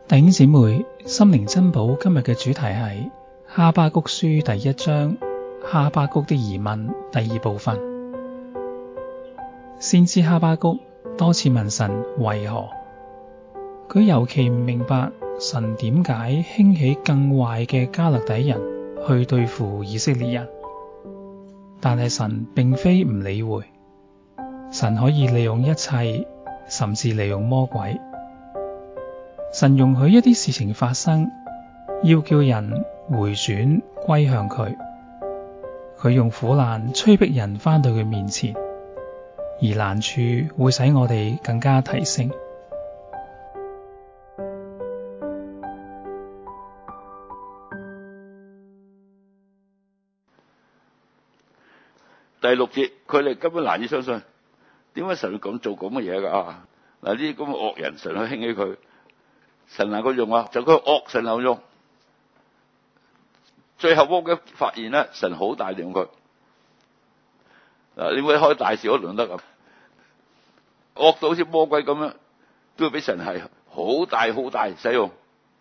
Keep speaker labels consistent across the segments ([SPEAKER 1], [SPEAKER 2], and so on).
[SPEAKER 1] 弟兄姊妹，心靈珍寶今日嘅主題係哈巴谷書第1章，哈巴谷的疑問第2部分。先知哈巴谷多次問神為何，佢尤其唔明白神點解興起更壞嘅迦勒底人去對付以色列人。但係神並非唔理會，神可以利用一切，甚至利用魔鬼。神容許一啲事情發生，要叫人回轉歸向佢。佢用苦難催逼人返到佢面前，而難處會使我哋更加提升。
[SPEAKER 2] 第6節，佢哋根本難以相信，點解神會咁做咁嘅嘢㗎？嗱，呢啲咁嘅惡人，神去興起佢，神能夠用啊，就佢惡神能夠用。最後魔鬼發現咧，神好大利用佢。嗱，你會開大事都唔得咁，惡到好似魔鬼咁樣，都要俾神係好大使用。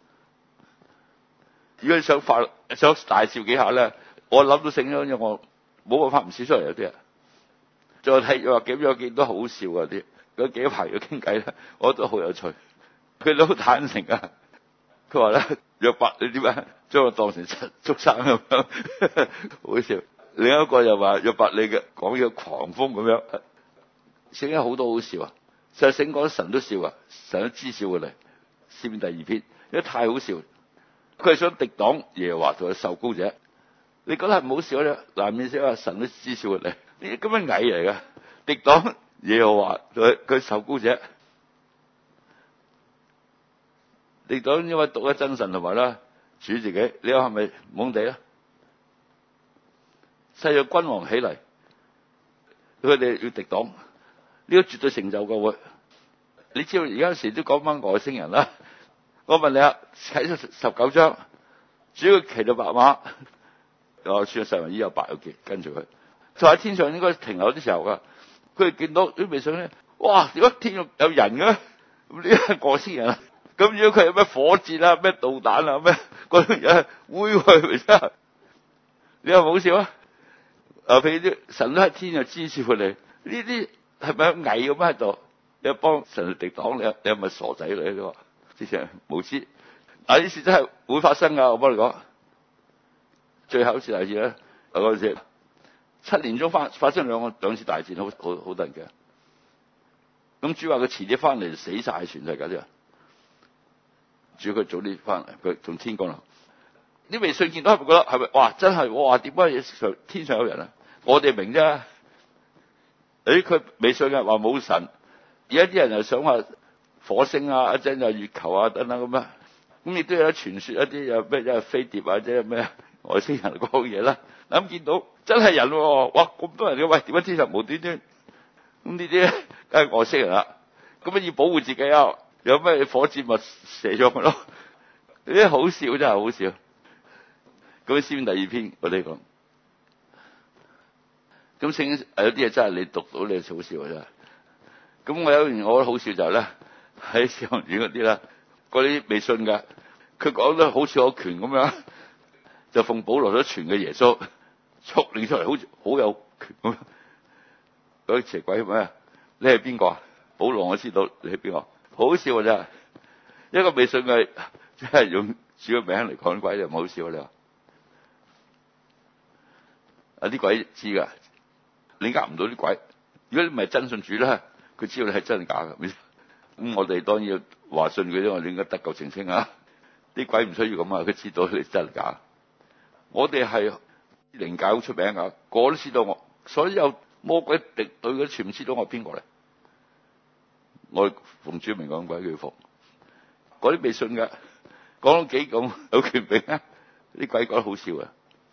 [SPEAKER 2] 如果你想大笑幾下咧，我諗到醒咗，因為我冇辦法唔笑出嚟有啲啊。再睇話幾樣見都好笑啊啲，嗰幾排嘅傾偈咧，我覺得好有趣。佢都好坦誠啊！佢話咧，約伯你點解將我當成畜生咁樣，好笑。另一個又話約伯你嘅講嘢狂風咁樣，聖經好多好笑啊！就係聖經講神都笑啊，神都知笑過嚟。詩篇第2篇，因為太好笑。佢係想敵擋耶和華同佢受膏者，你覺得係唔好笑咧？難免識話神都知笑過嚟，呢啲咁嘅蟻嚟㗎，敵擋耶和華同佢受膏者。你講因為獨一真神同埋啦，主自己，你話係咪懵地啊？世上君王起嚟，佢哋要敵擋，呢個絕對成就嘅會。你知道而家有時都講翻外星人啦。我問你啊，睇咗19章，主要騎到白馬，我穿咗細雲衣有白有潔跟住佢，就喺天上應該停留啲時候噶。佢哋見到啲微信咧，哇！點解天上有人嘅？咁呢係外星人啊！咁如果佢有咩火箭啊、咩導彈啊、咩嗰啲嘢揮去，真係你話唔好笑啊？譬如啲神都喺天上支持佢哋，呢啲係咪蟻咁喺度？你幫神敵擋你係咪傻仔嚟？你話之前無知，嗱呢事真係會發生噶。我幫你講，最後一次大戰咧，嗰陣時7年中發生兩次大戰，好得人驚。咁主話佢遲啲翻嚟死晒全世界啲人。主佢早啲翻嚟，佢從天降臨。啲微信見到係咪覺得係咪？哇！真係哇！點解天上有人啊？我哋明啫。佢微信嘅話冇神，而家啲人又想話火星啊，一陣又月球啊等等咁樣。咁亦都有傳說一啲有咩一係飛碟或者咩外星人講嘢啦。咁見到真係人喎，哇！咁多人嘅，喂，點解天上無端端？咁呢啲梗係外星人啦。咁要保護自己啊！有咩火箭咪射咗佢咯？呢啲好笑，真係好笑。咁詩篇第2篇我哋講，咁聖經有啲嘢真係你讀到你好笑真係。咁我有一件我覺得好笑就係咧，喺使徒院嗰啲啦，嗰啲未信嘅，佢講得好似有權咁樣，就奉保羅所傳嘅耶穌，速練出嚟好似好有權咁樣。嗰啲邪鬼咩？你係邊個啊？保羅我知道你係邊個。好笑啊！真係一個未信嘅，即係用主嘅名嚟講鬼，就唔好笑。你話啊啲鬼知噶，你呃唔到啲鬼。如果你唔係真信主咧，佢知道你係真定假嘅。咁我哋當然要話信佢，因為我哋應該得救澄清啊。啲鬼唔需要咁啊，佢知道你真定假。我哋係靈界好出名噶，個個都知道我。所有魔鬼敵對嗰啲全部知道我係邊個嚟。我奉主名講鬼叫服，嗰啲未信嘅講到幾咁有權柄啊！啲鬼覺得好笑啊！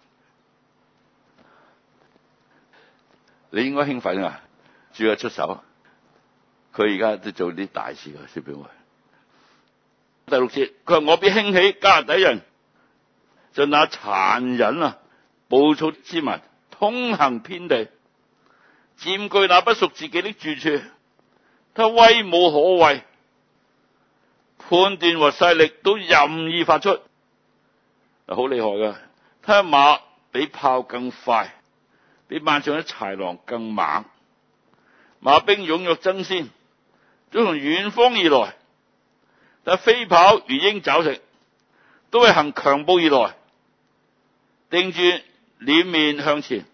[SPEAKER 2] 你應該興奮啊！主要出手，佢而家都做啲大事啊！小表妹，第6節，佢話我必興起迦勒底人，就那殘忍啊、暴躁之民，通行遍地，佔據那不屬自己的住處。他威武可畏， 判斷和勢力都任意發出，好厲害噶！他的馬比炮更快，比萬丈的豺狼更猛。馬兵踴躍爭先，都從遠方而來，但飛跑如鷹抓食，都係行強步而來，定住臉面向前，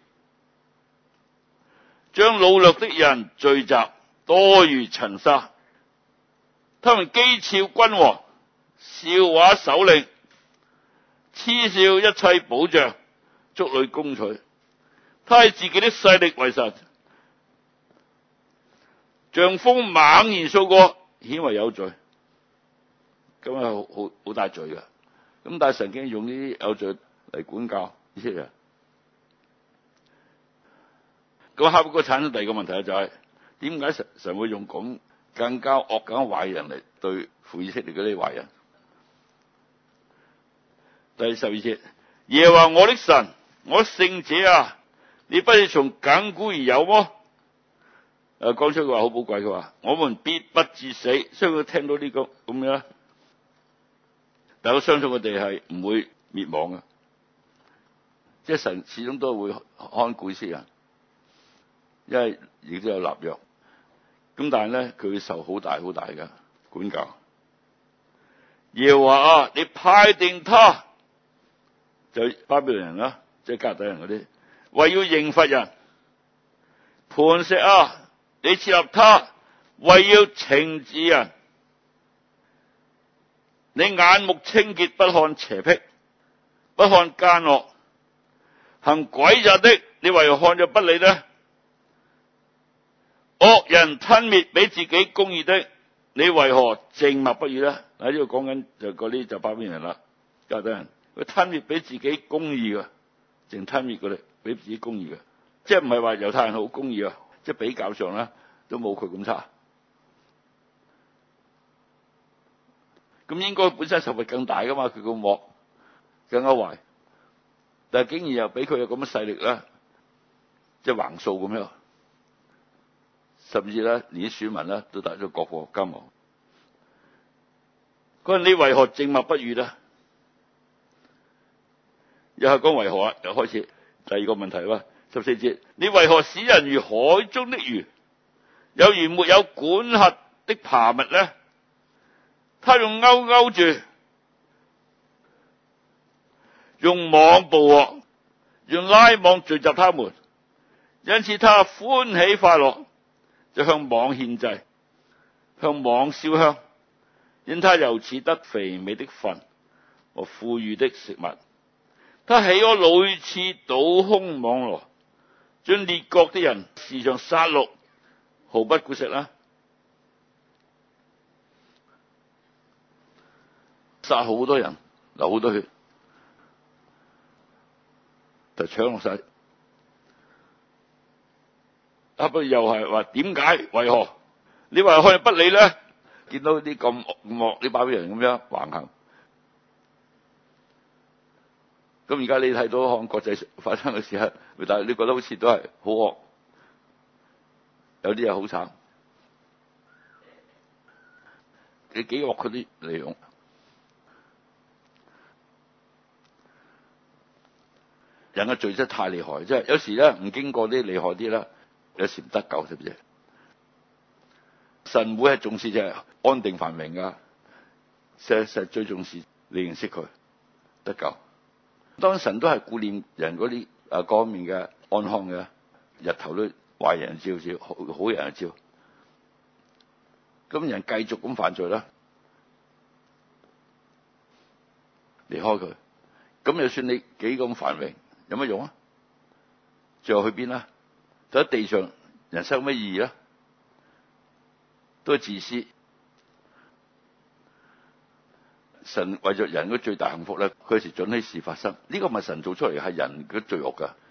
[SPEAKER 2] 將擄掠的人聚集，多如塵沙。他們譏誚君王，笑話首領，嗤笑一切保障，築壘攻取。他以自己的勢力為神，像風猛然掃過，顯為有罪。咁係好大罪㗎。咁但係神經用呢啲有罪嚟管教以色列人。咁哈巴谷產生第二個問題就係點解神會用咁更加惡、更加壞人嚟對付以色列嗰啲壞人？第12節，耶和華我的神，我聖者啊，你不是從亙古而有麼？講出句話好寶貴，佢話我們必不致死。所以佢聽到呢個咁樣，但我相信佢哋係唔會滅亡嘅，即係神始終都會看顧以色列人，因為亦都有立約。咁但係咧，佢會受好大好大嘅管教。耶和華啊，你派定他，就巴比倫人啦，即係迦勒底人嗰啲，為要刑罰人。磐石啊，你設立他，為要懲治人。你眼目清潔，不看邪僻，不看奸惡，行詭詐的，你為何看着不理呢？惡人吞滅比自己公義的，你為何靜默不語呢？喺呢度講緊就嗰啲就巴比倫人啦，迦勒底人，佢吞滅比自己公義嘅，淨吞滅佢哋比自己公義嘅，即係唔係話猶太人好公義啊？即係比較上咧都冇佢咁差。咁應該本身受罰更大噶嘛？佢個惡更加壞，但係竟然又俾佢有咁嘅勢力咧，即係橫掃咁樣，甚至咧連啲選民咧都帶咗各國家亡。佢話你為何靜默不語呢？又係講為何啊？又開始第二個問題啦。14節，你為何使人如海中的魚，有如沒有管轄的爬物呢？他用鈎勾住，用網捕獲，用拉網聚集他們，因此他歡喜快樂，就向網獻祭，向網燒香，因他由此得肥美的分和富裕的食物。他喜愛屢次倒空網羅，將列國的人時常殺戮，毫不顧惜啦。殺好多人，流好多血，就搶落晒。不過又係話點解？為何？你話可以不理呢？見到啲咁惡啲巴比倫人咁樣橫行，咁而家你睇到看國際發生嘅事啊，但係你覺得好似都係好惡，有啲嘢好慘。你幾惡佢啲利用？人嘅罪真係太厲害，即係有時咧唔經過啲厲害啲啦，有時唔得救，知唔知？神會係重視就係安定繁榮噶，實最重視你認識佢得救。當神都係顧念人嗰啲各方面嘅安康嘅，日頭都壞人照，好人照，咁人繼續咁犯罪啦，離開佢，咁就算你幾咁繁榮，有乜用啊？最後去邊啦？就喺地上，人生有乜意義啊？都係自私。神為咗人嗰最大幸福咧，佢有時准許事發生。呢個唔係神做出嚟，係人嘅罪惡噶。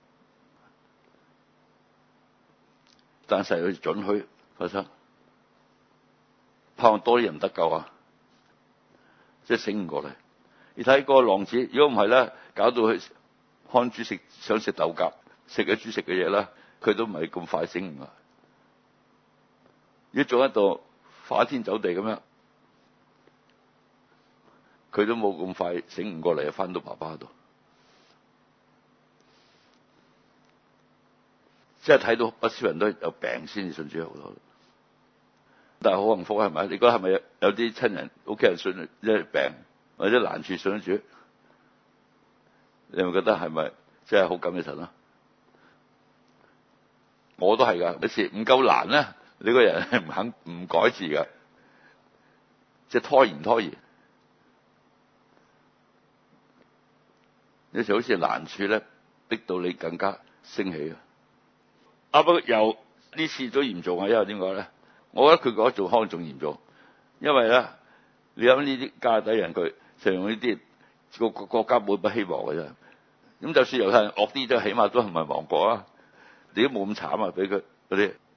[SPEAKER 2] 但係佢准許發生，盼望多啲人得救啊！即係醒唔過嚟。你睇個浪子，如果唔係咧，搞到佢看豬食，想食豆莢，食咗豬食嘅嘢啦，佢都唔係咁快醒唔啊！如果做一度花天酒地咁樣， 佢都冇咁快醒悟過嚟，翻到爸爸度，即係睇到不少人都有病先至信主好多，但係好幸福係咪？你覺得係咪有啲親人屋企人信即係病或者難處信主？你咪覺得係咪即係好感謝神啊？我都係噶，有時唔夠難咧，你個人係唔肯唔改字噶，即係拖延。有時好似難處咧，逼到你更加升起啊！不過又呢次都嚴重啊，因為點講咧？我覺得佢嗰做可能仲嚴重，因為咧，你諗呢啲加勒底人佢就用呢啲個國家冇乜希望嘅啫。咁就算猶太人惡啲，都起碼都唔係亡國啊！你都冇咁慘啊，俾佢嗰啲。